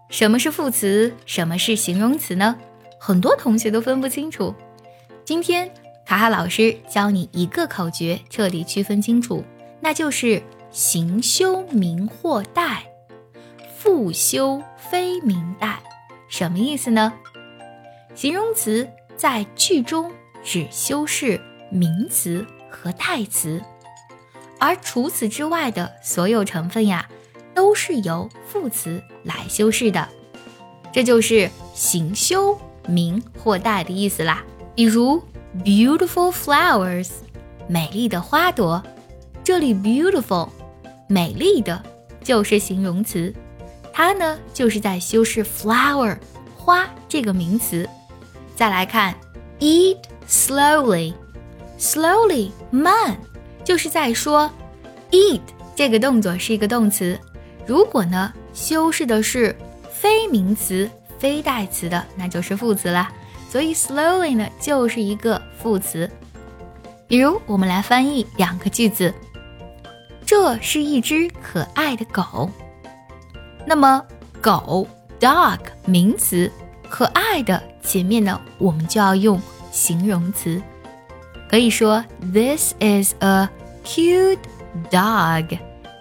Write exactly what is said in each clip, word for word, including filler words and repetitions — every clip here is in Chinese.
什么是副词，什么是形容词呢？很多同学都分不清楚。今天卡卡老师教你一个口诀，彻底区分清楚，那就是形休名或代，复修非名代。什么意思呢？形容词在句中只修饰名词和代词，而除此之外的所有成分呀，都是由副词来修饰的。这就是形休名或代的意思啦。比如 beautiful flowers， 美丽的花朵，这里 beautiful 美丽的就是形容词，它呢就是在修饰 flower 花这个名词。再来看 eat slowly， slowly 慢，就是在说 eat 这个动作是一个动词，如果呢修饰的是非名词非代词的，那就是副词啦。所以 slowly 呢就是一个副词。比如我们来翻译两个句子，这是一只可爱的狗。那么狗 dog 名词，可爱的前面呢我们就要用形容词，可以说 This is a cute dog。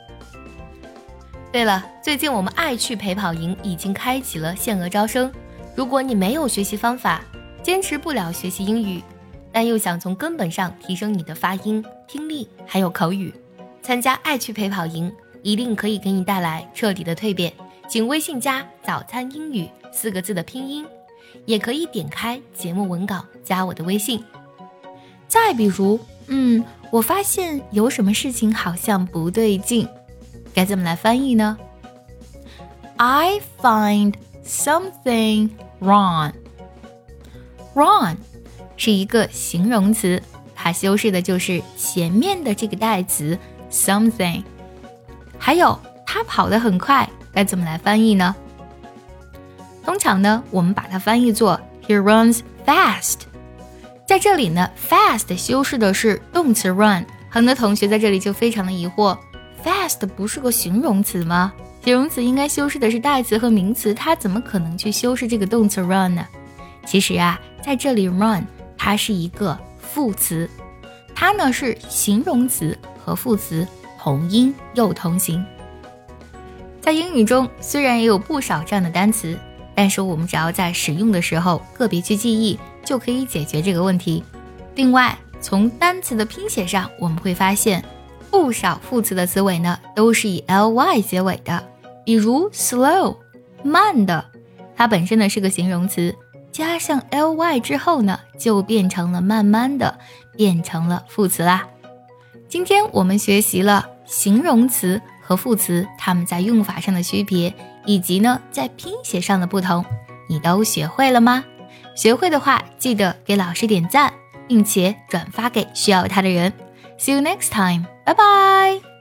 对了，最近我们爱趣陪跑营已经开启了限额招生，如果你没有学习方法，坚持不了学习英语，但又想从根本上提升你的发音、听力还有口语，参加爱趣陪跑营一定可以给你带来彻底的蜕变。请微信加早餐英语四个字的拼音，也可以点开节目文稿加我的微信。再比如嗯，我发现有什么事情好像不对劲，该怎么来翻译呢？ I find something wrong。 wrong 是一个形容词，它修饰的就是前面的这个代词 something。 还有他跑得很快，该怎么来翻译呢？通常呢我们把它翻译作 He runs fast。 在这里呢 fast 修饰的是动词 run， 很多同学在这里就非常的疑惑， fast 不是个形容词吗？形容词应该修饰的是代词和名词，它怎么可能去修饰这个动词 run 呢？其实啊，在这里 run 它是一个副词，它呢是形容词和副词同音又同形。在英语中虽然也有不少这样的单词，但是我们只要在使用的时候个别去记忆，就可以解决这个问题。另外，从单词的拼写上，我们会发现不少副词的词尾呢都是以 ly 结尾的。比如 slow 慢的，它本身呢是个形容词，加上 ly 之后呢就变成了慢慢的，变成了副词啦。今天我们学习了形容词和副词它们在用法上的区别，以及呢在拼写上的不同，你都学会了吗？学会的话记得给老师点赞，并且转发给需要它的人。See you next time， 拜拜。